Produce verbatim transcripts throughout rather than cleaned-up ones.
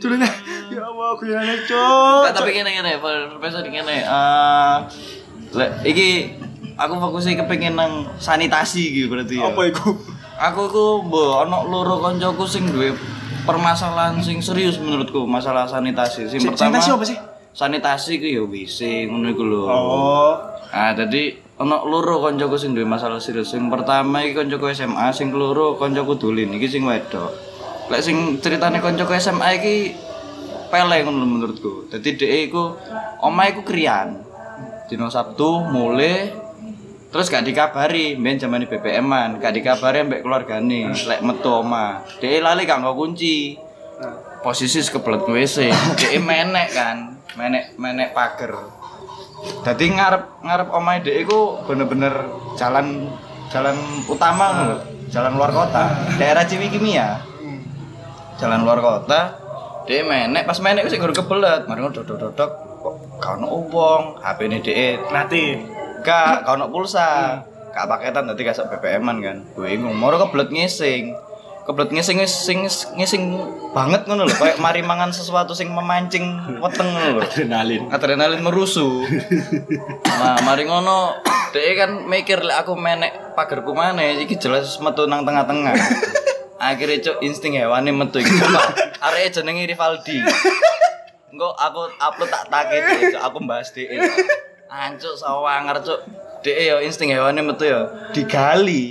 Culune. Ya Allah, guyonane, Cuk. Tapi ngene-ngene, profesor ngene. Eh lek iki aku fokusnya kepengin nang sanitasi gitu berarti ya. Apa iku? Aku ku mbok ana loro kancaku sing duwe permasalahan sing serius menurutku masalah sanitasi. Sing pertama sanitasi apa sih? Sanitasi ku ya W C ngono iku lho. Oh. Ah dadi ana loro kancaku sing duwe masalah serius. Sing pertama iki kancaku S M A, sing keloro kancaku dolin iki sing wedok. Lek sing ceritane kancaku S M A iki pele ngono menurutku. Dadi dhek iku omahe iku kriyan. Dino Sabtu mulai terus gak dikabari, mben zamane B P M-an, gak dikabari mbek keluargane, lek metu omah. Dhek lali gak nggo kunci. Posisi kebelet W C, dhek menek kan, menek menek pager. Dadi ngarep ngarep omahe dhek iku bener-bener jalan jalan utama lho, jalan luar kota, daerah Ciwikimia. Jalan luar kota, dhek menek, pas menek wis nggo kebelet, mari dodok-dodok kok gak ono wong, H P-ne dhek Nati. Gak, kau nak pulsa, gak paketan tadi kasih B P M-an kan, bingung. Moro kebelet ngising, kebelet ngising ngising ngising banget ngono lho, kayak mari mangan sesuatu sing memancing weteng ngono lho. Adrenalin, adrenalin merusuh. Nah, mari ngono, dhek kan mikir lek aku menek pagerku maneh, iki jelas metu nang tengah-tengah. Akhirnya cuk insting hewani metu iki. Areke jenenge Rivaldi. Engko aku upload tak takit, aku mbahas dhek. Ancuk sawanger cuk. Dhek ya insting hewane metu ya digali.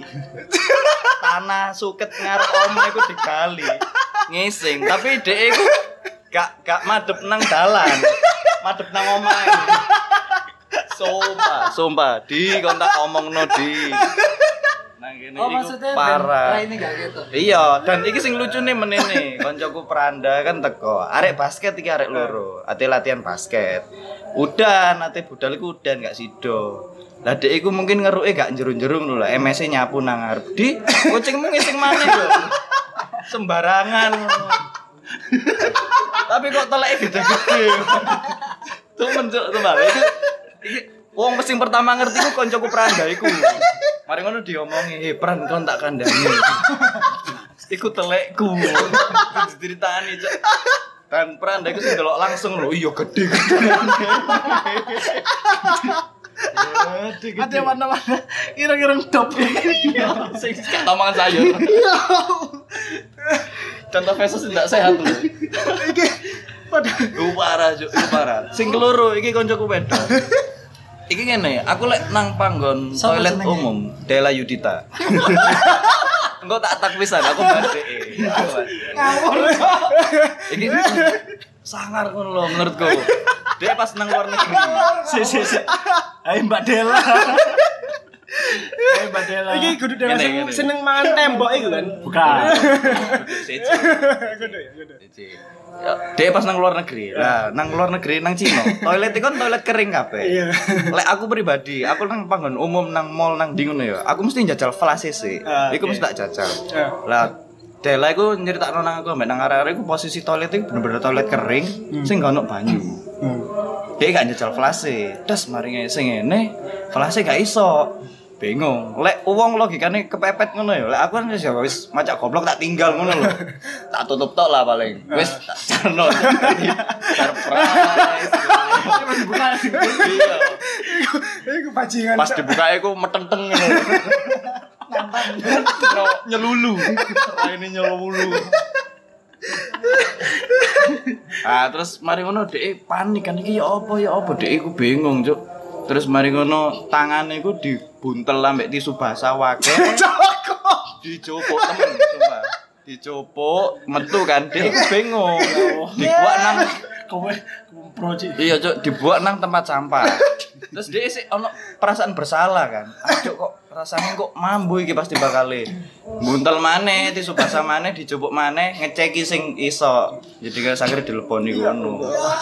Tanah suket ngarep omah iku digali. Ngising, tapi dhek iku gak gak madhep nang dalan. Madhep nang omah. Sumpah, sumpah di kon tak omongno di. Nang kene oh, iku parah. Ini gak gitu. Iya, dan iki sing lucune menene, koncoku Pranda kan teko. Arek basket iki arek loro, ate latihan basket. Udan, ate budal iku udan gak sido. Lah dhek iku mungkin ngeruke gak jerung-jerung lho, M S-e nyapu nang ngarep. Di, kucingmu ngising maneh lho. Sembarangan. Tapi kok teleke gede-gede. Tuh mencuk tuh Mbak. Iki iki wong sing pertama ngerti ku koncoku Pranda iku. Mari ngono diomongi, "Eh, Pran kon tak kandhani." Iku telekku. Diceritani, Cuk. Dan Pranda iku sing delok langsung lho, iya gede. Ada warna-warna ireng-ireng top. Sing gak tomangan sayur. Iya. Contoh fesus ndak sehat lho. Iki pada Iku parah, Cuk, iku parah. Sing keloro iki koncoku wedok. Iki ngene, aku lek nang panggon Sama toilet senengnya. umum, Dela Yudita. Engko tak tak pisan aku balik. ngawur. Iki sangar ngono lho menurutku. Dia pas nang luar negeri. Si si si. Hai Mbak Dela. Hai Mbak Dela. Iki kudu Dela Gini, sing gini. seneng mangan tembok iku kan? Bukan. Siji. Kudu ya, kudu. Siji. Ya, dia pas nang luar negeri. Lah, nang luar negeri nang Cina. Toilet itu kan toilet kering kabeh. Iya. Lek aku pribadi, aku nang panggon umum nang mall nang ndi ngono ya. Aku mesti njajal flash C C. Ah, Iku oke. mesti tak jajal. Ah. Lah Dela iku nyeritakno nang aku ambek nang arek-arek iku posisi toilet iku bener-bener toilet kering sing gak ono banyu. Hmm. Dia gak njajal flase, das mari sing ngene, flase gak iso. Bingung. Lek wong logikane kepepet ngono ya. Lek aku kan wis wis macak goblok tak tinggal ngono lho. Tak tutup tok lah paling. Wis tak jarno. Surprise. Bukan. Iya. Iku bajingan. Pas dibuka iku meteng-teng ngono. Nyampang. Nyelulu. Raine nyelulu. Ah terus mari ngono dhek panik kan iki ya apa ya apa dhek iku bingung cuk. Terus mari ngono tangane iku dibuntel ambek tisu basah wake. Dicopok temen sumpah. Dicopok metu kan dhek iku bingung. Dibuak nang kowe proji. iya cuk dibuak nang tempat sampah. Terus dhek sik ono perasaan bersalah kan. Cuk kok rasane kok mambu iki pasti bakale. Buntel maneh tisu basah maneh dicopok maneh ngeceki sing iso. Jadi kan sakire dileponi ngono.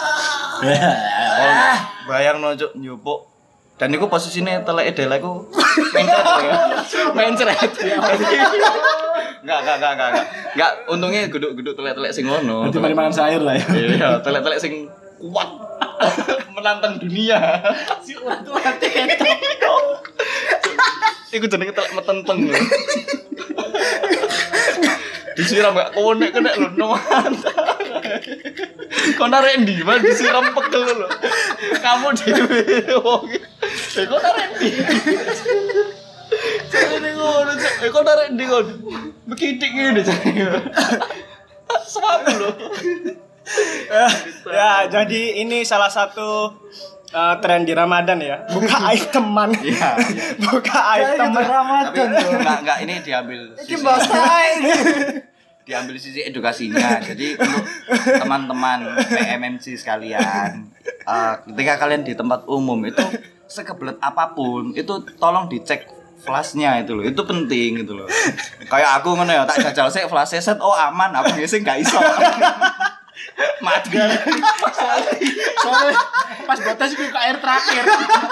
Oh, bayangno cuk nyupuk. Dan iku posisine teleke Dela iku mencret ya. Mencret. Enggak, enggak, enggak, enggak. Enggak, untungnya geduk-geduk telek-telek sing ngono. Nanti mari makan sayur lah ya. Iya, telek-telek sing kuat. Menantang dunia. Si urat-urat ketok. Iku jenenge telek metenteng lho. Disiram gak konek kena lho, no. Kok narik ndi, Mas disiram pegel lho. Kamu dhewe wong. Eh kok narik ndi? Jane ngono, eh kok narik ndi kon? Bekitik ngene jane. Suap lho. Ya, jadi ini salah satu uh, tren di Ramadan ya. Buka iteman. Iya, iya. Buka iteman Tapi Ramadan. enggak enggak ini diambil Ini bahasa ini. diambil sisi edukasinya. Jadi untuk teman-teman P M M C sekalian, uh, ketika kalian di tempat umum itu sekebelet apapun, itu tolong dicek flashnya itu loh. Itu penting gitu loh. Kayak aku ngono ya, tak jajal sik flash set, oh aman, aku ngising gak iso. Mati. Soalnya pas batas itu ke air terakhir.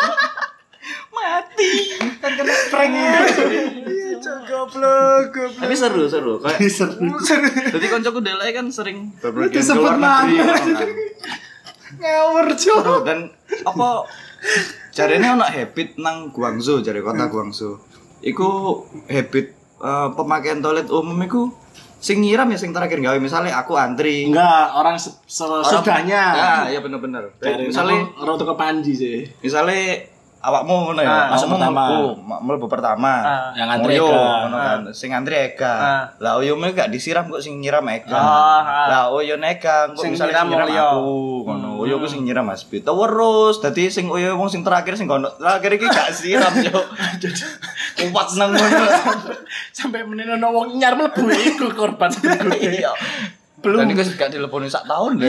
Mati. Kan kena prank Iya, goblok, goblok. Tapi seru seru. Kayak seru. jadi koncoku delek kan sering bepergian Disebut keluar negeri mana? ngono kan. Ngawur, Cuk. Seru dan apa jarene ono habit nang Guangzhou, jare kota Guangzhou. Iku habit eh, pemakaian toilet umum iku sing nyiram ya sing terakhir gawe misalnya aku antri. Enggak, orang se- se- Orang- sesudahnya. Ya, iya bener-bener. Dari Misalnya misalnya orang tuh ke Panji sih. misalnya awakmu ngono ya, Ah, masuk masuk pertama. pertama, mlebu pertama. Ah. Yang antri Ngoyo, Ega. ngono kan. Sing antri Ega. Ah. Lah uyume gak disiram kok sing nyiram Ega. Ah, ah. Lah uyu Ega kok Sing misalnya nyiram sing nyiram Mulyo. aku. Ngono, uyu ku sing nyiram Mas Bi. Terus dadi sing uyu wong sing terakhir sing kono. Terakhir iki gak siram yo. Kuat nang ngono. Sampai menino wong nyar mlebu iku korban berikutnya. Iya. Belum. Dan iku gak dileponi sak tahun deh.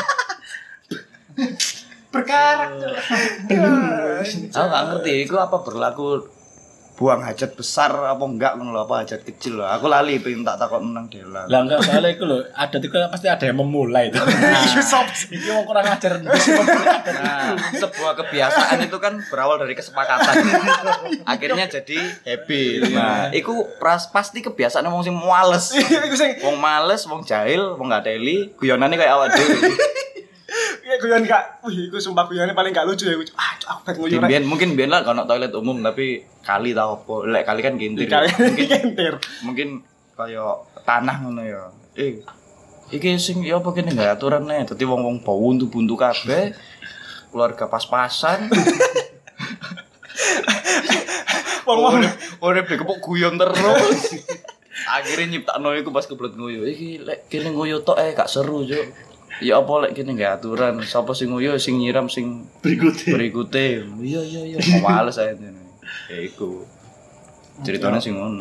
Berkarakter. Aku gak ngerti, itu apa berlaku buang hajat besar apa enggak ngono lho, apa hajat kecil lho. Aku lali pengen tak takon menang Dela. Lah enggak soalnya itu loh, adat itu kan pasti ada yang memulai itu. Nah, iki wong kurang ajar Nah, sebuah kebiasaan itu kan berawal dari kesepakatan. Akhirnya jadi habit. Nah, itu pras, pasti kebiasaan wong sing males. Iku sing Wong males, wong jahil, wong gak teli, guyonane kayak awak dhewe. kayak guyon gak. Wih, iku sumpah guyonane paling gak lucu ya. Ah, Cuk, aku pengen nguyu. Biyen mungkin biyen lah kalau toilet umum tapi kali tau apa. Lek kali kan gintir. Kali Mungkin kentir. mungkin kaya tanah ngono ya. Eh, iki sing ya apa kene enggak aturane. Dadi wong-wong bau buntu-buntu kabeh. Keluarga pas-pasan. Wong-wong Urip dikepuk guyon terus. Akhirnya nyiptakno iku pas kebelet nguyu. Iki lek kene nguyu tok eh gak seru, Cuk. Ya apa lek kene enggak aturan. Sapa sing nguyu sing nyiram sing berikutnya. berikutnya. Iya iya iya. Males ae ngene. Ya iku. Ceritanya sing ngono.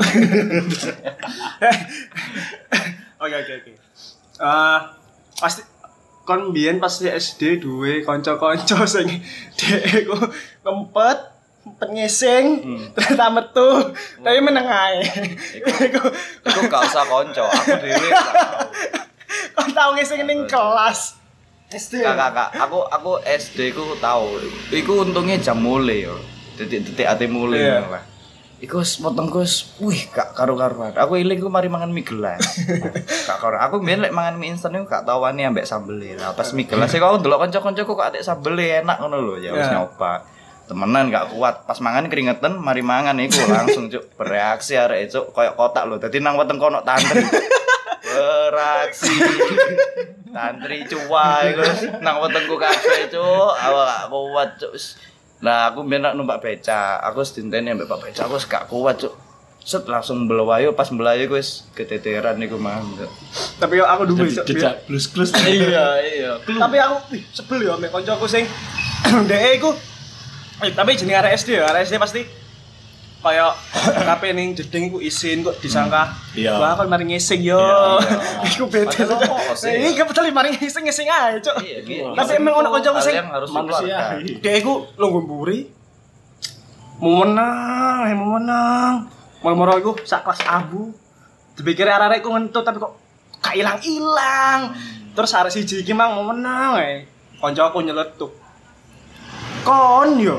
Oke oke oke. Eh pasti kon biyen pasti S D duwe kanca-kanca sing dhek iku ngempet ngempet ngising ternyata metu tapi meneng ae. Iku Iku gak usah konco, aku dhewe gak tau. kon tau ngising ning kelas. S D. Kak, kak, aku aku S D ku tahu. Iku untungnya jam mulai yo. Detik-detik ate mulai Iya. ngono lah. Iku wis potongku wis wih gak karu-karuan. Aku iling ku mari mangan mie gelas. Gak karo. Aku mbiyen lek mangan mie instan iku gak tau wani ambek sambel. Lah pas mie gelas iku aku ndelok kanca-kancaku kok adek sambel enak ngono lho. Ya wis Iya. nyoba. Temenan gak kuat. Pas mangan keringetan, mari mangan iku langsung cuk bereaksi arek cuk koyo kotak lho. Dadi nang weteng kono tantri. Beraksi. Tantri cuai terus nang wetengku kabeh cuk. Awak gak kuat cuk. Lah aku mbiyen nak numpak beca, aku wis dinteni ambek Pak Beca, aku wis gak kuat cuk. Set langsung mbelawayo pas mbelayo ku wis keteteran iku mah. Tapi yo aku duwe Cuk. Jejak blus-blus. Iya iya. Tapi aku wih, sebel yo ambek kancaku sing dhek iku eh tapi jenenge arek S D ya, arek S D pasti kaya kape ning jeding iku isin kok disangka Iya. wah kon mari ngising yo. Iya, Iku beda. Padahal apa sih? Iki betul mari ngising ngising ae, Cuk. Iya, iya. Tapi emang ono kancaku sing Kalian harus manusia. dikeluarkan. dhek iku lungguh mburi. Mau menang, mau menang. Moro-moro iku sak kelas abu. Dipikir arek-arek iku ngentut tapi kok gak ilang-ilang. Terus arek siji iki mang mau menang ae. Kancaku nyeletuk. Kon yo.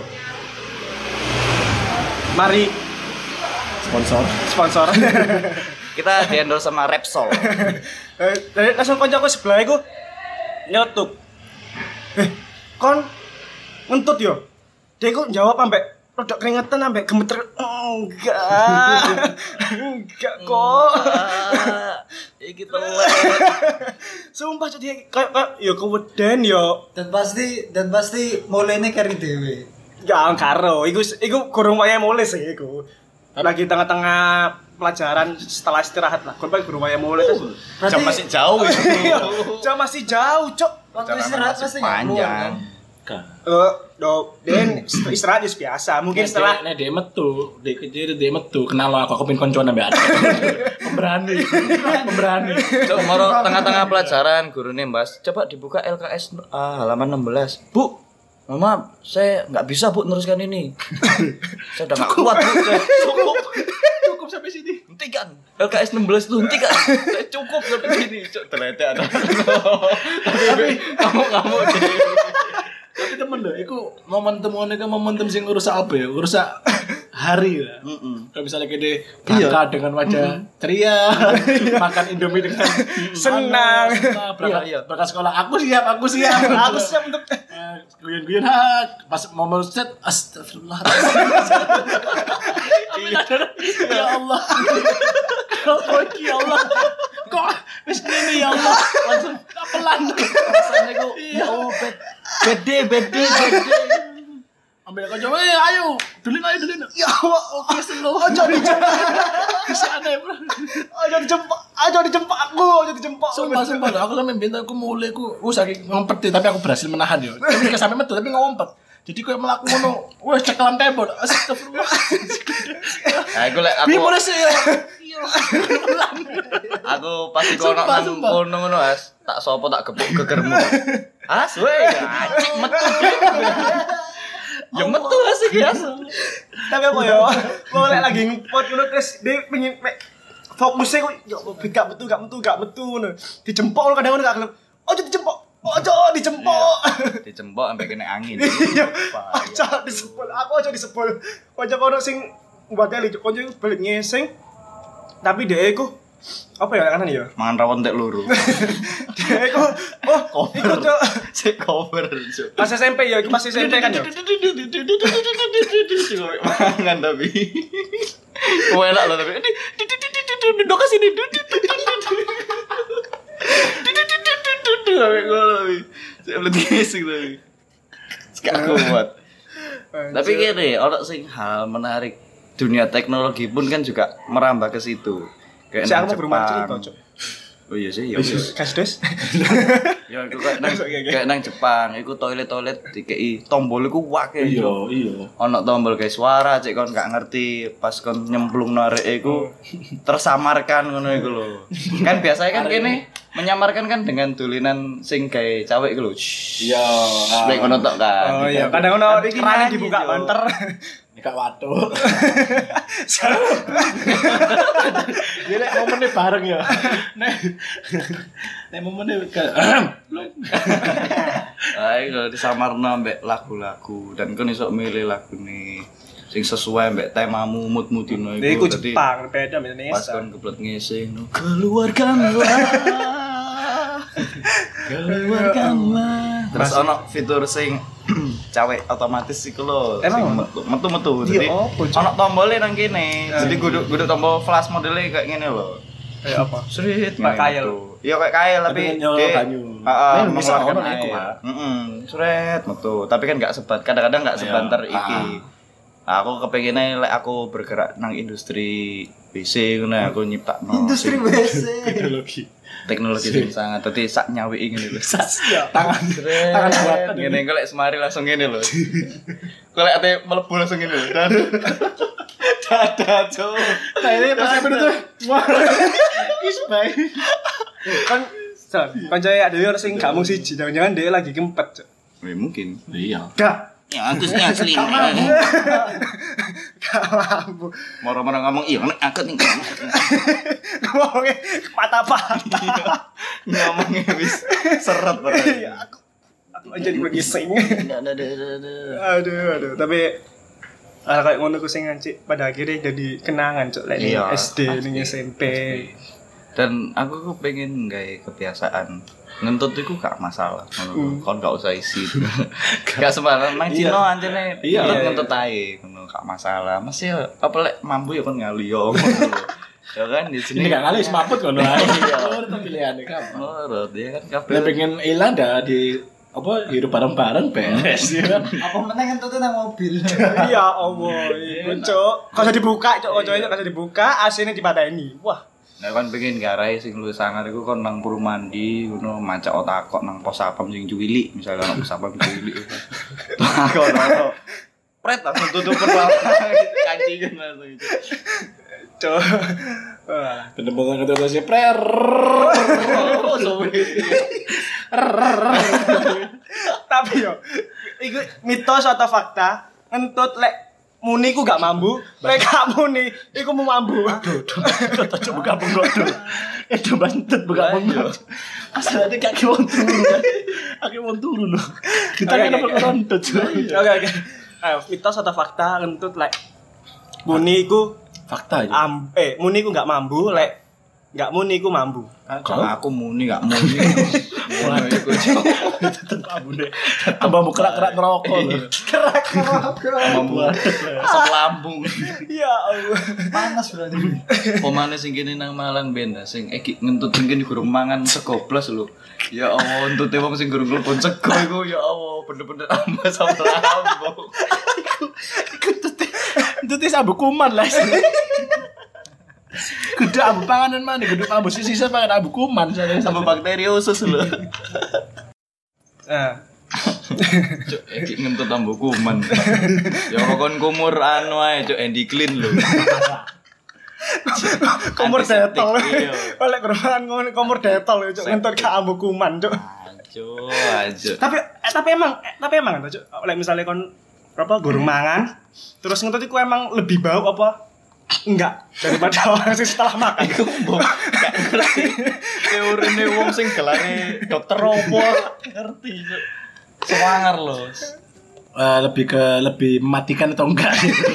Mari Sponsor. sponsor. Kita di endorse sama Repsol. Eh, dari langsung kancaku sebelah iku nyeletuk. Eh, kon ngentut yo. Dia iku jawab ambek rodok keringetan ambek gemeter. Enggak. Enggak kok. Iki telek. Sumpah jadi kayak kayak ya keweden yo. Dan pasti dan pasti mulainya kari dhewe. Ya karo, iku iku kurang waya mulai sih iku. Lagi tengah-tengah pelajaran setelah istirahat lah. Kon guru waya mulai kan. Jam masih jauh itu. Jam masih jauh, Cok. Waktu istirahat pasti nggak keluar kan. Eh, do, den istirahat is biasa. Mungkin setelah nek dia metu, dia kecil dia metu, kenal lo aku aku pin koncoan ambek ada. Pemberani. Pemberani. Cok moro tengah-tengah pelajaran gurune Mbas, coba dibuka L K S ah, halaman enam belas. Bu, Mama, saya nggak bisa Bu teruskan ini. Saya udah nggak kuat Bu. Saya cukup. Cukup sampai sini. Hentikan. L K S enam belas itu hentikan. Saya cukup sampai sini. Cok terlete ada. Tapi kamu-kamu jadi Tapi temen deh, itu momentum ini kan momentum sing ngerusak apa ya? Ngerusak hari lah. Kalau misalnya gede berangkat dengan wajah ceria, makan Indomie dengan senang. senang, berangkat, berangkat sekolah. Aku siap, aku siap, aku siap untuk guyon-guyon pas mau set, astagfirullah. Ya Allah, kau ya Allah, kok wis ini ya Allah, langsung pelan. rasanya kok oh bed bede bede bede. Ambil kau coba, ayo, dulin ayo dulin. ya Allah, Oke slow. ojo dijempak. Bisa aneh bro. Ojo dijempak, ojo dijempak aku, ojo dijempak. Sumpah sumpah loh, aku sampe bintang aku mulai aku, aku saking ngompet tapi aku berhasil menahan yo. Tapi gak sampe metu tapi ngompet. Jadi koyo mlaku ngono, wes cekelan tembok. Astagfirullah. Nah, aku lek aku Bi mulai sih ya. Iya. aku pasti kono Sumpah, nang sumpah. kono ngono As, tak sopo tak gebuk gegermu. As we, anjing metu. Ya metu As iki As. Tapi apa ya? Boleh lagi ngepot ngono terus dia pengen fokusnya kok ya gak metu gak metu gak metu ngono. Dijempol kadang ngono gak gelem. Ojo dijempol. Ojo dijempol. Dicembok sampai kena angin. Iya. Ojo disepol. Aku ojo disepol. Ojo kono sing buat kali ojo balik ngeseng. Tapi dia iku apa ya kanan ya? Mangan rawon tek loro. Dia iku oh, iku Cok. Sik cover, Cuk. Pas S M P ya, iku pas S M P kan ya. Mangan tapi. Kowe enak loh tapi. Duduk ke sini. Sampai ngono tapi. Saya belum ngising tapi. Gak kuat. Tapi gini, orang sing hal menarik dunia teknologi pun kan juga merambah ke situ. Kayak Si aku nang mau berumah Jepang. cerita, Cok. Oh iya sih, ya wis. Kasdes. Ya iku kayak nang kayak nang Jepang, iku toilet-toilet dikei tombol iku wake. Iya, iya. Ono tombol kayak suara cek kon gak ngerti pas kon nyemplung narek iku tersamarkan ngono iku lho. Kan biasanya kan kene menyamarkan kan dengan tulinan sing gawe cawek iku lho. Iya. Lek ngono tok kan. Oh iya, kadang ono Tapi keran gimana dibuka gitu? banter. Nikah watuk. Ini nek momennya bareng ya. Nek nek momennya kayak Ayo kalau disamarno mbek lagu-lagu dan kon iso milih lagune sing sesuai mbek temamu mood-mood dino Iku iku. Dadi Jepang, beda sama pas Indonesia. kon kebelet ngising no, keluarkanlah. Keluarkanlah. Terus ono fitur sing cawek otomatis iku lho. Emang sing ono? metu metu-metu. Iya, Jadi opo, Cuk? ono tombolnya nang kene. Jadi guduk-guduk tombol flash modelnya kayak ngene lho. Kayak apa? Srit Kayak kail. Iya kayak kail tapi Tapi nyolok dia- banyu. Heeh, Nah, bisa mengeluarkan ono iku, air. Pak. Heeh, sret metu. Tapi kan enggak sebat. Kadang-kadang enggak Iya. sebanter iki. Ah. Aku kepengennya lek aku bergerak nang industri B C ngono aku nyiptakno Industri sing- W C. teknologi. teknologi sing sangat dadi sak nyawiki ngene lho. Tangan tangan buatan. Ngene engko lek semari langsung ngene lho. Kok lek ate mlebu langsung ngene lho. Dan dadah cuk. Nah ini pas saya tuh. Wah. Is baik. Kan Son, kancane ada orang sing gak mung siji, jangan-jangan dia lagi kempet, Cuk. Ya, mungkin. Iya. Gak. Ya aku sih asli. Gak mampu. Moro-moro ngomong iya nek aku ning Ngomongnya patah-patah. ngomongnya wis seret banget. Iya, aku aku aja di ngising. Aduh, aduh, tapi ah kayak ngono ku sing ngancik pada akhirnya jadi kenangan, Cuk, lek ning Iya, S D pasti. ning S M P. Dan aku kok pengen gawe kebiasaan ngentut iku gak masalah. Ngono. Kon gak usah isi. Gak sembarang nang Cina anjene ngentut ngentut ae ngono gak masalah. Masih apa lek mampu ya kon ngali yo. Ya kan di sini Ini gak kali semaput ngono ae. Itu pilihane kamu. Menurut dia kan Lah kabeh pengen ilang dah di apa hidup bareng-bareng beres ya kan. Apa meneh ngentutnya nang mobil. Iya, Allah. Iku, Cuk. Kok usah dibuka, Cuk. Kocoknya kok usah dibuka, A C-ne dipateni. Wah. Nah kan pengen garai sing luwih sangar iku kon nang puru mandi ngono mancak otak kok nang pos sapam sing cuwili misalnya nang pos sapam cuwili. Takon ono. Pret langsung tutup pertama kancingan langsung itu. Cuk. Wah. Bener-bener kata si prer. Oh, sobat. Tapi yo, iku mitos atau fakta? Ngentut lek muni ku gak mambu, lek gak muni iku mau mambu. Aduh, aduh, buka bengkok tuh. Itu bantet buka bengkok. Asal ada kaki wong turun. Kaki wong turun loh. Kita kan apa korontot. Oke oke. Ayo, mitos atau fakta ngentut lek muni iku Fakta aja. am eh muni ku gak mambu, lek gak muni ku mambu. Kalau aku muni gak muni. Ngono iku. Tetep abu deh. Tambah mau kerak-kerak ngerokok loh. Mambu asap lambung. Ya Allah. Panas berarti. Pemane sing kene nang Malang ben sing iki ngentut sing kene gurung mangan sego blas lho. Ya Allah, entute wong sing gurung telepon sego iku ya Allah, bener-bener ambas asap lambung. Iku tete. Tete sabu kuman lah. Gede abu panganan mana? Gede abu sisa pangan abu kuman soalnya Sama bakteri usus lho. Nah, Cuk, iki ngentut ambu kuman. Ya kon kumur anu ae, cuk Andy Clean lho. komur detol. Iya. Oleh kerumahan ngono komur detol ya, Cuk. Ngentut gak ambu kuman, Cuk. Ajo, ajo. Tapi eh, tapi emang eh, tapi emang Cuk. Oleh misalnya kon apa gurung mangan, terus ngentut iku emang lebih bau apa? Enggak, daripada orang sing setelah makan. Iku mbok gak ngerti. Teorine wong sing gelane dokter opo ngerti, Cuk. Semangar lho. Eh, lebih ke lebih mematikan atau enggak?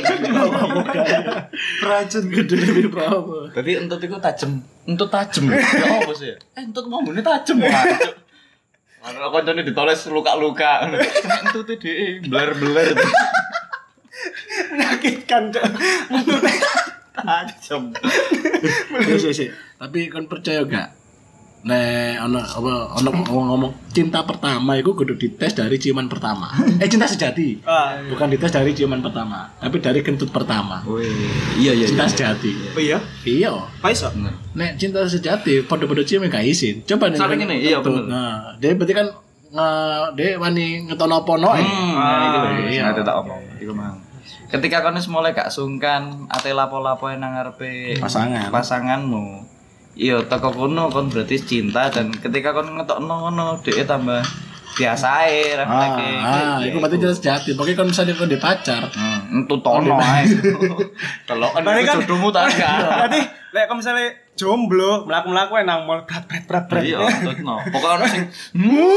Beracun gede lebih berapa? Tadi entut iku tajem, entut tajem. Ya apa sih? Eh entut mambune tajem wae. Ana koncone ditoles luka-luka. Entut dhek bler-bler. Menyakitkan, Cuk. Tajem. Iya sih sih. Tapi kan percaya gak? Nek ono apa ono ngomong cinta pertama itu kudu dites dari ciuman pertama. Eh cinta sejati. Ah, Bukan dites dari ciuman pertama, tapi dari kentut pertama. Wih, iya iya. Cinta iya. sejati. oh iya? Iya. Paiso. Bener. Nek cinta sejati podo-podo cium gak izin. Coba nih. Sampai gini, iya, bener. Nah, dia berarti kan nge dia wani ngetono ponoe. Hmm, Ah, nah, itu iya. iya. tak omong. Iku mang. Ketika kono mulai gak sungkan, ate lapo-lapo nang ngarepe Pasangan. pasanganmu. Iya, teko kono kon berarti cinta dan ketika kon ngetokno ngono dhek tambah biasa ae Ah, refleke. ah, itu berarti cinta sejati. Pokoknya kalau misalnya kau di pacar, Hmm, entu tono ae. Kalau kan Berarti kan- jodohmu tak ada. Berarti lek kalau misalnya jomblo, mlaku-mlaku nang mall brat brat brat brat. Iya, tetno. Pokoke ono sing hmm.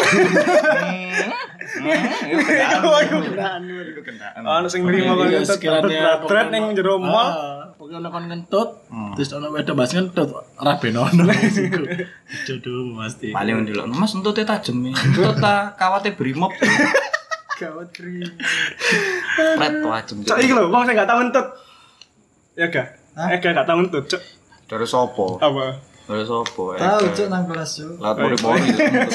Iku Iku iku kenaan. kenaan. Iku kenaan. Ono sing nrimo kok Iya, ngentut sekiranya brat brat ning jero mall. Ah, pokoknya ono kon ngentut, terus ono wedok bahas ngentut, ora ben ono. Jodoh pasti. Paling ndelok, Mas entute tajem. Entut ta kawate brimob. Gawat krim. Pret tajem. Cok iki lho, wong sing gak tau ngentut. Ya gak? Eh gak gak tau ngentut, Cok. Dari sopo? Apa? Dari sopo? Tahu Cuk nang kelas Cuk. Laut pori-pori.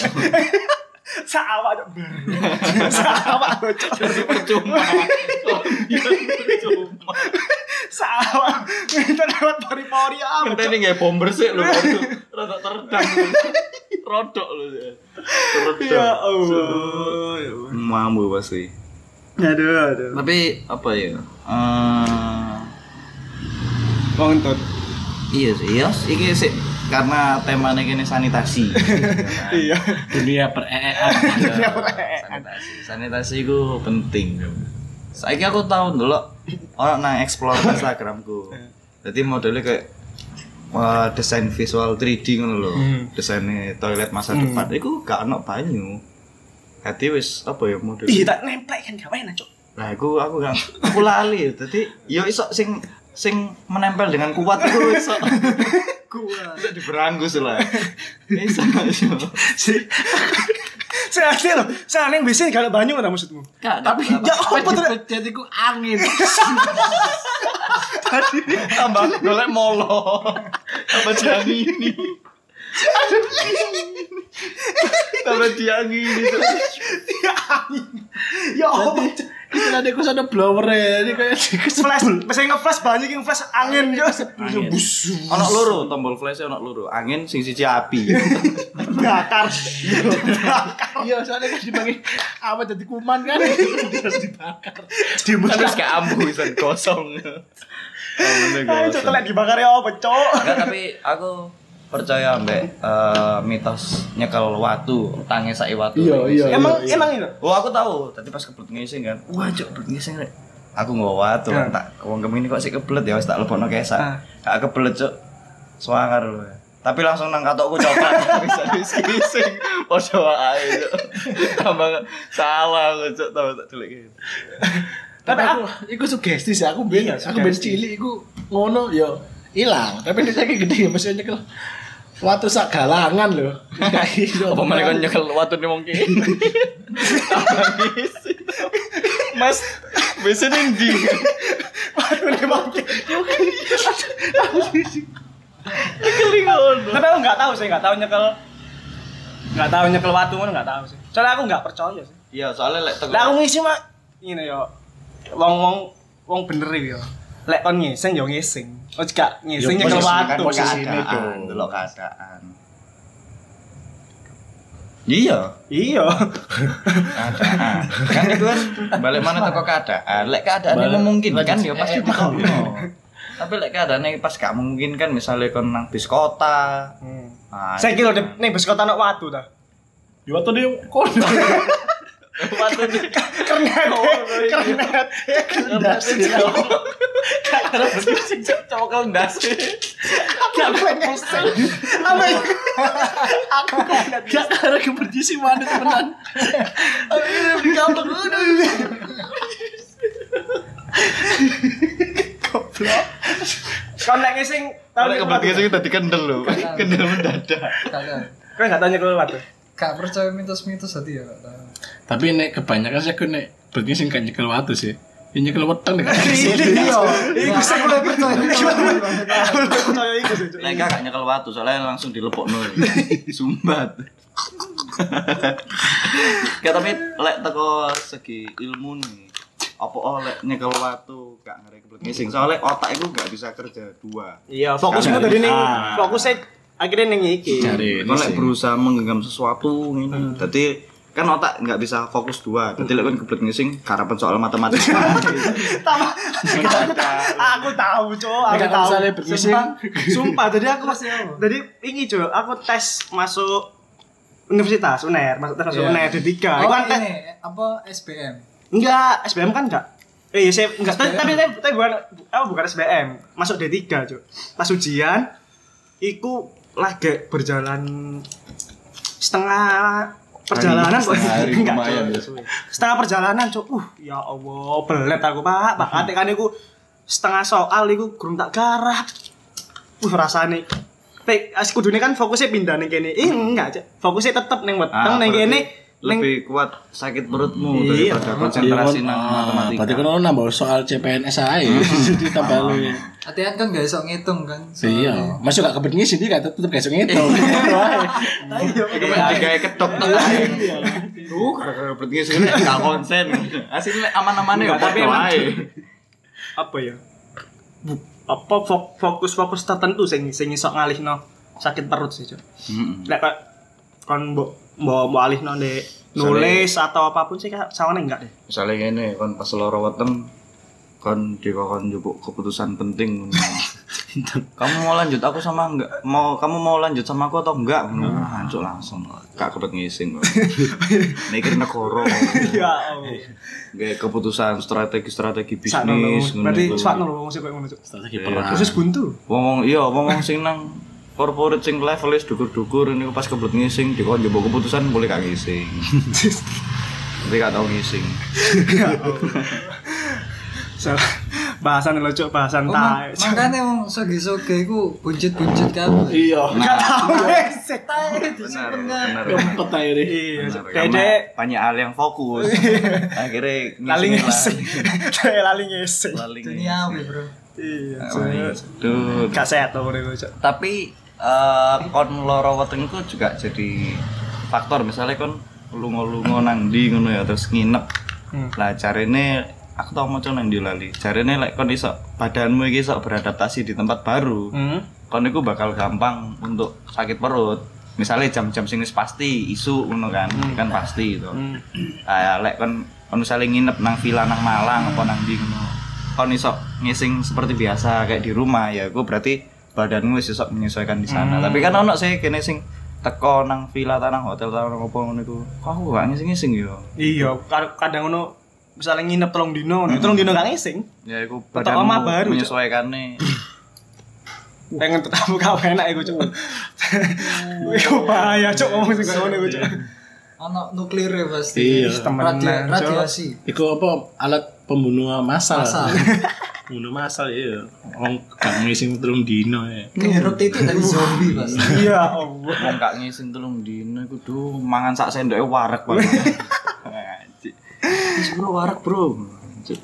Sawak Cok. Sawak Cok. Jadi percuma. Percuma. Sawak. Ngentut lewat pori-pori apa? Kita ini nggak bomber sih lho. Rodok teredam. Rodok lho. Ya Teredam. Allah. Ya Allah. Mampu pasti. Aduh, aduh. Tapi apa ya? Eh Wong ngentut. iya sih, iya. Iki sih karena temanya gini sanitasi. Iya. Dunia per-eean. Sanitasi. Sanitasi itu penting. Saiki aku tahu dulu orang nang explore Instagramku. Jadi modelnya kayak wah, desain visual tiga D ngono lho. Hmm. Desainnya toilet masa depan. Iku gak ono banyu. Jadi wis apa ya model. Ih, tak nemplek kan gak enak, Cok. Lah aku aku gak aku lali. Dadi yo iso sing sing menempel dengan kuat itu iso kuat bisa diberanggus lah. Bisa iso. Saya asli loh, saya aneh biasanya kalau banyu nggak maksudmu? Enggak, tapi Ya apa terjadi ku angin. tambah golek molo. Tambah diangini. Tambah diangini. Ya apa? Istilah dia ku sana blower ya. Ini kayak Flash, biasanya nge-flash banyak yang flash angin yo. Angin. Ono loro, tombol flash ono loro. Angin sing siji api. Bakar. iya soalnya kan dipakai apa jadi kuman kan terus dibakar. Terus kayak ambu isan kosong. Ayo coklat dibakar ya apa, Cok? Enggak, tapi aku percaya mbak uh, mitos nyekel watu, tangi sak watu. Iya, iya. Emang emang itu. Oh aku tahu, tadi pas kebelet ngising kan. Wah, cok kebelet ngising rek. Aku nggawa watu kan tak wong kemini kok sik kebelet ya wis tak lebokno kesak. Gak kebelet cok. Swangar lho. Tapi langsung nang katokku coklat bisa ngising. Padha wae cok. Tambah salah aku cok tambah tak delek gitu. Tapi aku iku sugesti sih aku ben aku ben cilik iku ngono ya hilang. Tapi nek saiki gede ya mesti nyekel watu sak galangan lho. Kayak iso. Apa meneh kon nyekel watune wong kene. Mas, wis ndi? Watune wong kene. Nyekel ngono. Tapi aku nggak tahu sih, nggak tahu nyekel nggak tahu nyekel watu ngono nggak tahu sih. Soalnya aku nggak percaya sih. Iya, soalnya lek teko. Lah aku ngisi mah ngene yo. Wong-wong wong bener iki yo. Lek kon ngising yo ngising. Oh gak ngising Yo, nyekel posisi- watu. posisine keadaan, dong. delok keadaan. Iya, Iya. keadaan. Kan itu kan balik mana teko keadaan. Lek keadaannya Balik- memungkinkan balik- ya pasti eh, dikono. Tapi lek keadaannya pas gak memungkinkan misalnya kon nang bis kota. Hmm. Nah, Saya kira di ning bus kota ana watu ta. Di waktu dia kono. watu di Kernet. Kernet. ndas. Karena sing cokol ndas. Gak pengen. Apa ya? Aku kernet. Gak ada keberji sih mana temenan. Ini di kamar ngono. Goblok. Kau nek ngising tau Lek kebetulan sing tadi kendel lho. Kendel mendadak. Kakak. Kau enggak tanya keluar watu. Gak percaya mitos-mitos tadi ya, Kak. tahu. Tapi nek kebanyakan sih aku nek berarti sing kan nyekel watu sih. Ini nyekel weteng nek. Iya. Iku sing udah percaya. Percaya iku sih. Lek gak nyekel watu soalnya langsung dilepokno. Sumbat. Gak tapi lek teko segi ilmu nih. Apa oh lek nyekel watu gak ngerti kebelet ngising. Soalnya otak itu gak bisa kerja dua. Iya, fokusmu Karena- tadi ning Ah. fokusnya akhirnya ning iki. Cari Kalau lek berusaha menggenggam sesuatu ini, jadi kan otak nggak bisa fokus dua. Jadi lek kan kebelet ngising karapan soal matematika. Tambah aku tahu, Cok. Aku Nek tahu. misalnya bergising. Sumpah, sumpah. Jadi aku Pasti aku. jadi ini, Cok. Aku tes masuk universitas U N E R, masuk tes masuk Iya. U N E R D tiga. Itu Oh kan tes ini apa S B M? enggak, S B M kan enggak. Eh, iya, saya enggak, tapi S B M. tapi tapi tapi bukan apa bukan S B M, masuk D tiga, Cok. Pas ujian iku lagi berjalan setengah perjalanan kok Setengah hari enggak, lumayan Cok. ya, suwe. Setengah perjalanan, Cok. Uh, ya Allah, belet aku, Pak. Pak atik kan iku setengah soal iku gurung tak garap. Uh, rasane Tek, as kudune kan fokusnya pindah ning kene. Eh, enggak, Cok. Fokusnya tetep ning weteng Ah, ning berarti kene. Ning lebih kuat sakit perutmu Iya. daripada konsentrasi nang matematika. Berarti kan nambah soal C P N S ae. Jadi tambah lu. Latihan kan gak iso ngitung kan. Iya, masuk gak kebetulan sih dia tetep gak iso ngitung. Iku kayak ketok tok ae. Duh, gara-gara kebelet ngising gak konsen. Asline aman-amane ya Enggak, tapi padha emang- wae. apa ya? Bu- apa fok- fokus-fokus tertentu sing sing iso ngalihno sakit perut sih, Cok. Heeh. Lek kok kon mbok mbok mbok alihno ndek nulis atau apapun sih sawane enggak deh. Misalnya ngene kon pas loro weteng kon dikon njupuk keputusan penting. Kamu mau lanjut aku sama enggak? Mau kamu mau lanjut sama aku atau enggak? Hancur langsung. Gak kebet ngising kok. Mikir negara. Ya Allah. Kayak keputusan strategi-strategi Sakno lho. bisnis Berarti ngono. sakno lho wong sing koyo ngono, Cok. Strategi Iya. perang. Khusus buntu. Wong iya, wong sing nang corporate sing level wis dukur-dukur niku pas kebet ngising dikon njupuk keputusan boleh gak ngising. Tapi gak tau ngising. Salah. Bahasan lo cuk, bahasan Oh, ma- tae. makanya wong soge-soge iku buncit-buncit kabeh. Iya. Enggak tahu resek. Tae Benar, disimpen benar. Kempet akhirnya. Iya, Benar, Cuk. karena Dede banyak hal yang fokus. Akhirnya lali ngisi-ngisi. ngesek. Lali ngesek. Lali Duniawi, Bro. Iya, Oh, iya. Cuk. Duh. Gak sehat tuh udah cuk. Tapi eh, kon loro weteng itu juga jadi faktor. Misalnya kon lunga-lunga nang ndi ngono ya terus nginep. Hmm. Lah carane aku tau maca nang ndi lali. Carane lek kon iso badanmu iki iso beradaptasi di tempat baru. Hmm. Kon iku bakal gampang untuk sakit perut. Misalnya jam-jam sing wis pasti isu ngono kan, kan pasti itu. Hmm. Ah lek kon kon misale nginep nang villa nang Malang apa nang ndi ngono. Kon iso ngising seperti biasa kayak di rumah ya, aku berarti badanmu wis iso menyesuaikan di sana. Hmm. Tapi kan ono sih kene sing teko nang villa tanah hotel tanah apa ngono iku. Kok aku gak ngising-ngising yo. Iya, kad- kadang ngono misalnya nginep telung dino, nih telung dino gak ngising. Ya iku Tetep omah baru, badanmu Cuk. menyesuaikannya. Pengen tetap gak enak iku cuk. Iku bahaya cuk ngomong sing ngono iku cuk. Ono nuklir ya pasti. Iya. Temenan, Radia- Cuk. radiasi. Iku apa alat pembunuh massal. Massal. Pembunuh massal iya. Wong gak ngising telung dino ya. Kehirup titik dari zombie pasti. Iya, Allah. Wong gak ngising telung dino iku duh mangan sak sendoke wareg banget. Anjir. Wis bro wareg, Bro. Anjir.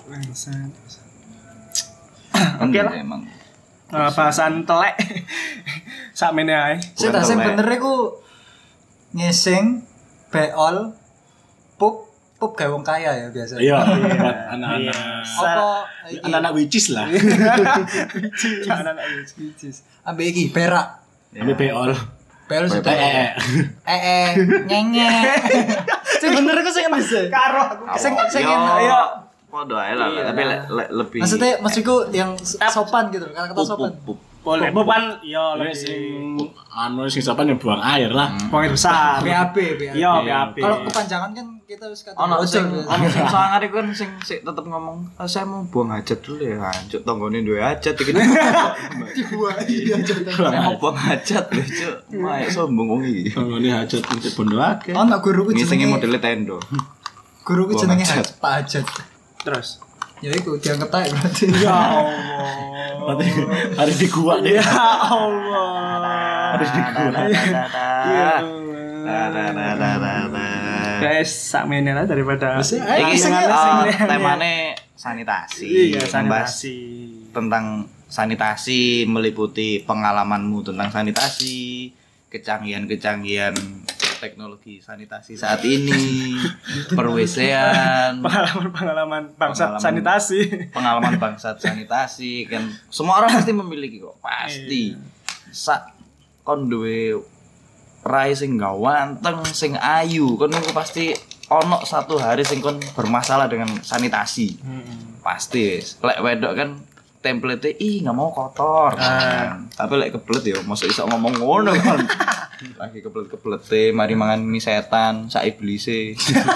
Oke lah. Emang. Eh, bahasan telek. Sakmene ae. Sing tak sing telek. bener iku ngising, beol, pup, pup gawe wong kaya ya biasa. Iya, buat anak-anak. Apa iki? Anak-anak witches lah. Jangan anak Which ambek iki berak. Ambil beol. Beol sudah. Eh, eh. Eh eh nyenge. Sing bener iku sing enak sih. karo aku. Sing sing Yo, enak. Iya. Podo ae lah, tapi le- le- lebih Maksudnya maksudku yang sopan gitu, kata-kata pup, sopan. pup, pup. Boleh bukan iya Ya lebih sing anu sing siapa yang buang air lah. poin besar. B A B, B A B. Iya, B A B. Kalau kepanjangan kan kita harus kata Ono sing ojol. ono sing sangar iku kan sing sik tetep ngomong, "Ah, saya mau buang hajat dulu ya." Hancur tanggane duwe hajat iki. Dibuang iya Saya mau buang hajat lho, Cuk. Mak sombong wong iki. Tanggane hajat untuk bondo akeh. Ono guruku Ngisingi jenenge modele tendo. guruku Buang jenenge hajat. Haj- Pak Hajat. Terus. Ya iku diangkat ae berarti. Ya Allah. Berarti harus di gua deh. Ya Allah. Harus di gua. Ya Nah, nah, nah, nah, nah, nah. Guys, sakmene lah daripada Iki sing eh, temane sanitasi. Iya, Membahas sanitasi. tentang sanitasi meliputi pengalamanmu tentang sanitasi, kecanggihan-kecanggihan teknologi sanitasi saat ini, perwesean, Pengalaman-pengalaman bangsat Pengalaman. sanitasi. pengalaman bangsat sanitasi kan semua orang pasti memiliki kok, pasti. Sak kon duwe rai sing gawanteng, sing ayu, kon iku pasti ono satu hari sing kon bermasalah dengan sanitasi. Pasti wis. Lek wedok kan template ih nggak mau kotor kan. Tapi lek kebelet ya mosok iso ngomong ngono kan. Lagi kebelet-kebelet mari mangan mie setan sak iblise.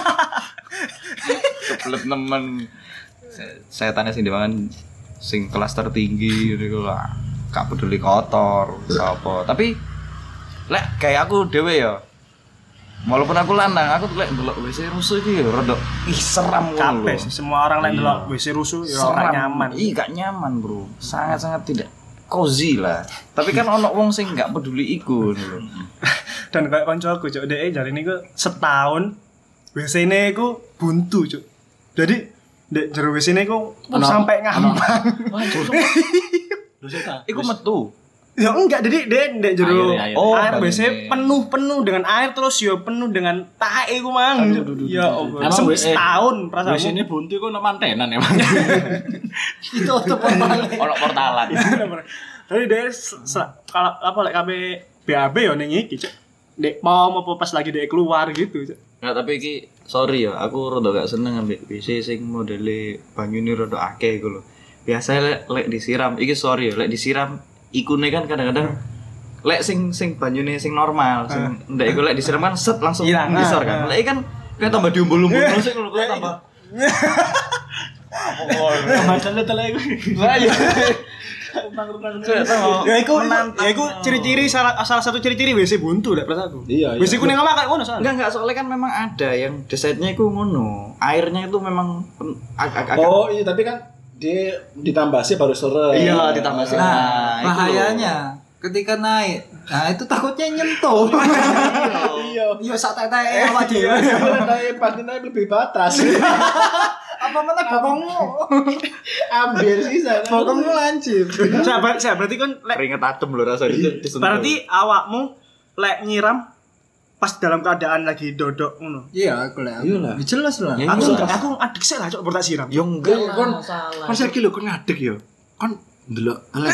Kebelet nemen Se- setannya sing dimangan sing kelas tertinggi niku lah. Gak peduli kotor apa. Tapi lek kayak aku dhewe ya. Walaupun aku lanang, aku lek ndelok W C rusuh iki ya rada ih seram ngono Kabeh lho. sih, semua orang lain delok W C rusuh ya ora nyaman. Iya gak nyaman bro, sangat-sangat tidak cozy lah. Tapi kan ono wong sing gak peduli iku lho. Dan kayak koncoku cuk, dhek jare niku setahun W C-ne iku buntu cuk. Jadi ndek jero W C-ne iku Ono- sampai ngambang. Dosa Iku metu. Ya enggak, jadi dia ndek jero Air, air. Oh, air W C banyune. penuh-penuh dengan air terus ya penuh dengan tae iku mang. Ya Allah. Emang Sem- W C setahun Di perasaan. sini buntu kok ono mantenan emang. Itu auto balik. Ono portalan. Tapi dia se- se- kalau apa lek kabeh B A B ya ning iki cuk. Dek pom apa pas lagi dek keluar gitu cuk. Nggak, tapi iki sorry ya, aku rada gak seneng ambek W C sing modele banyune rada akeh iku lho. Biasa lek lek disiram, iki sorry ya, lek disiram ikune kan kadang-kadang lek sing sing banyune sing normal, sing ndak iku lek disiram kan set langsung Hilang. besar kan. Lek iki kan kayak tambah diumbul-umbul terus iku lho, kayak tambah. Macamnya telah iku. Lah iya. Ya iku ya iku ciri-ciri salah salah satu ciri-ciri W C buntu lek perasaanku. Iya, iya. W C ku ning omah kan ngono soalnya. Enggak enggak soalnya kan memang ada yang desainnya itu ngono. Airnya itu memang pen- ag- ag- agak Oh iya tapi kan dia ditambah sih baru sore. Iya, ditambah sih. Nah, itu bahayanya ketika naik, nah itu takutnya nyentuh. Iya. Iya sak tete awak dhewe. Naik pasti naik lebih batas. Apa mana bokongmu? Ambil sisa. Bokongmu lancip. Sabar, saya berarti kan lek keringet adem lho rasanya. berarti awakmu lek nyiram pas dalam keadaan lagi dodok ngono. Iya, aku lah. Iyalah. Jelas lah. Ya, Aku iya. aku adik sih lah cok bertak siram. Yo enggak Iya, lah, kon salah. kon saiki lho kon ngadeg yo. Kon ndelok elek.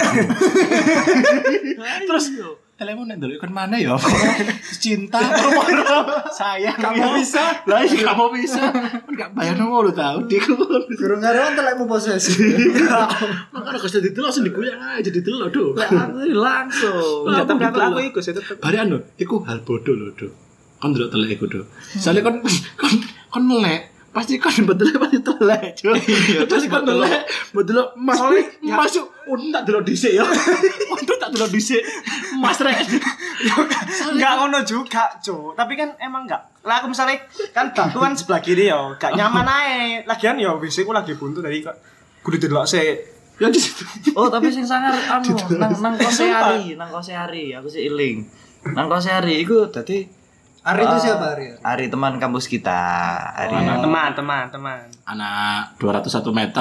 Terus elekmu nek ndelok kon mana yo? Cinta sayang. Kamu bisa? Lah iya kamu bisa. Kon gak bayar ngono lho tau dik. Gurung karo telekmu posesif. Makanya kalau sudah ditelok langsung diguyang aja ditelok do. Aku langsung. Enggak, tapi aku aku ikut saya tetep. Bari anu, iku hal bodoh lho do. Kon ndelok telek iku do. Soale kon kon kon melek pasti kan betul pasti telek cuy. Terus kan telek betul mas masuk unta delok dhisik ya. Unta tak delok dhisik. Mas rek. Enggak ngono juga, Cuk. Tapi kan emang enggak. Lah aku misalnya kan batu kan sebelah kiri yo, gak nyaman ae. Lagian yo W C ku lagi buntu tadi kok. Kudu delok sik. Ya di situ. Oh, tapi sing sangar anu nang nang kose Ari, nang kose Ari, aku sih eling. Nang kose Ari iku dadi Ari itu siapa Ari? Ari teman kampus kita. Ari. Teman, teman, teman. Anak dua ratus satu meter.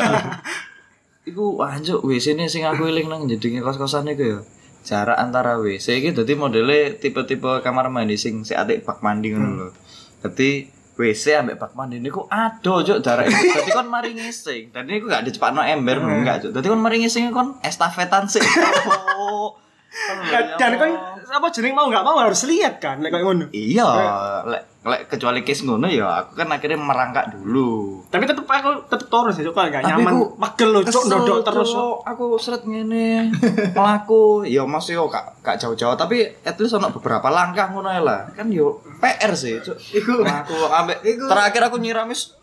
Iku anjuk W C ne sing aku eling nang jedinge kos-kosan iku ya. Jarak antara W C iki dadi modele tipe-tipe kamar mandi sing sik atik bak mandi ngono lho. Dadi W C ambek bak mandi niku ado juk jarak iku. Dadi kon mari ngising. Dan niku gak dicepakno ember ngono enggak juk. Dadi kon mari ngising kon estafetan sik. Oh. Dan kan apa jeneng mau enggak mau harus lihat kan lek koyo ngono. Iya, lek lek kecuali case ngono ya aku kan akhirnya merangkak dulu. Tapi tetep aku tetep terus ya, kok enggak Tapi nyaman. ku Magel lho, Cuk, kesel, ndodok terus. Cuk. Aku seret ngene. Melaku, ya masih yo gak gak jauh-jauh tapi at least ono beberapa langkah ngono ae lah. Kan yo P R sih, Cuk. Iku aku ambek terakhir aku nyiram wis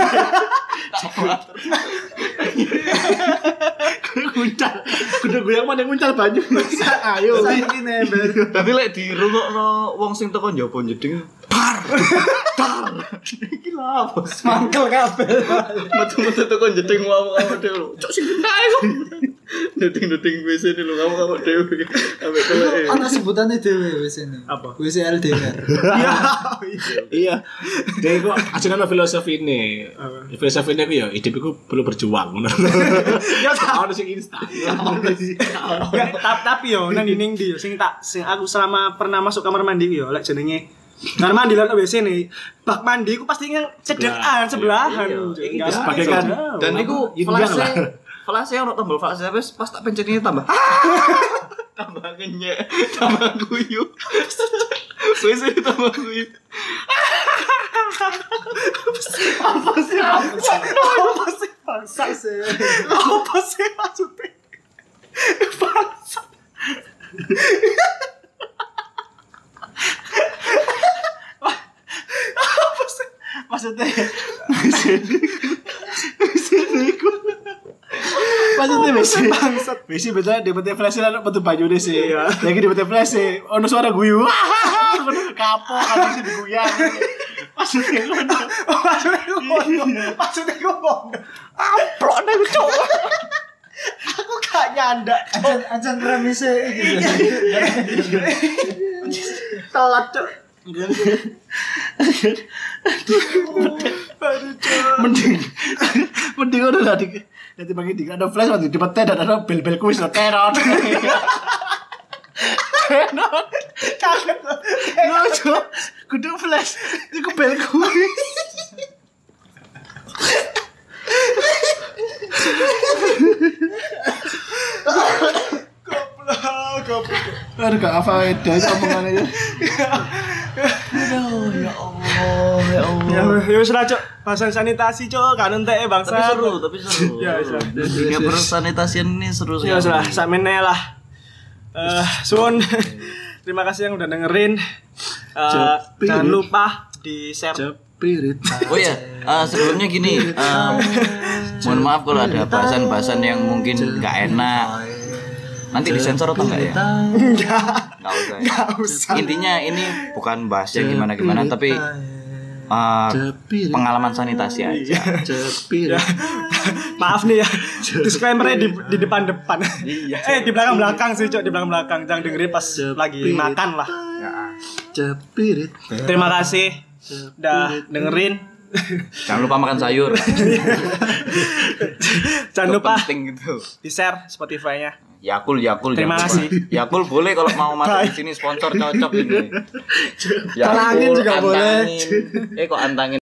Nguncal. Kudu goyang mana nguncal banyu. Ayo. Saiki nember. tapi lek dirungokno wong sing teko njaba jeding bar. Dar. Iki lha apa? Mangkel kabel. Metu-metu teko jeding awak-awak dhewe. Cuk sing gendae kok. Deting-deting W C ini lho awak-awak dhewe. Ambek teleke. Ana sebutane dhewe wis ini. Apa? W C L D R. Iya. Jadi kok ajaran filosofi ini. Filosofi ini aku ya hidup itu perlu berjuang. Ya tak ada sing instan. Enggak, ta- tapi yo nang ning ndi yo sing tak sing aku selama pernah masuk kamar mandi yo lek jenenge kamar mandi lan W C nih. Bak mandi ku pasti yang cedekan sebelahan. Enggak sebagai kan. Dan niku Itu flase lah. flase ono tombol flase tapi pas tak pencet ini tambah tambah kenyek tambah guyu wis tambah guyu apa sih apa sih bangsa sih apa sih maksudnya bangsa apa sih Maksudnya Maksudnya Maksudnya besi besi betul dia betul flash lah betul baju deh sih lagi dia betul flash sih ono suara guyu kapok kan sih diguyang maksudnya ngono maksudnya ngono maksudnya ngono amplok nih cowok aku gak nyanda Ajan ajan remise iki. telat cok mending mending udah tadi nanti bagi tiga ada flash waktu di pete dan ada bel bel kuis lo teror teror kaget lo cok kudu flash itu bel kuis goblok goblok aduh gak apa itu omongannya aduh ya Allah ya Allah ya ya wis lah cok bahasan sanitasi cok kan entek bangsa tapi seru tapi seru Ya, wis lah. dunia persanitasian ini seru sekali ya wis lah sakmene lah eh suwun terima kasih yang udah dengerin. Eh, jangan lupa di share. Cepirit. Oh ya, uh, sebelumnya gini, um, mohon maaf kalau ada bahasan-bahasan yang mungkin nggak enak. Nanti disensor atau enggak ya? Enggak. Enggak usah. Ya. Enggak usah. Intinya ini bukan bahas yang gimana-gimana, tapi eh, Cepirit. pengalaman sanitasi aja. Cepirit. Maaf nih ya, disclaimer-nya di, di depan-depan. Iya. eh di belakang-belakang sih, Cok, di belakang-belakang. Jangan dengerin pas lagi makan lah. Cepirit. Terima kasih udah dengerin. Jangan lupa makan sayur. Jangan Itu lupa penting gitu. di-share Spotify-nya. Yakul, Yakul. Terima jangan kasih. lupa. Yakul boleh kalau mau masuk di sini sponsor cocok ini. Talangin juga boleh. Antangin. Eh kok antangin